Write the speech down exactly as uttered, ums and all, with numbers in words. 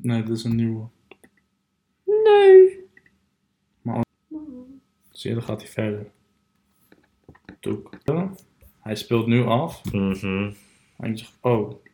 Nee, dit is een nieuwe. Nee. Maar zie je, dan gaat hij verder. Toek. Hij speelt nu af. Mhm. En je zegt, oh,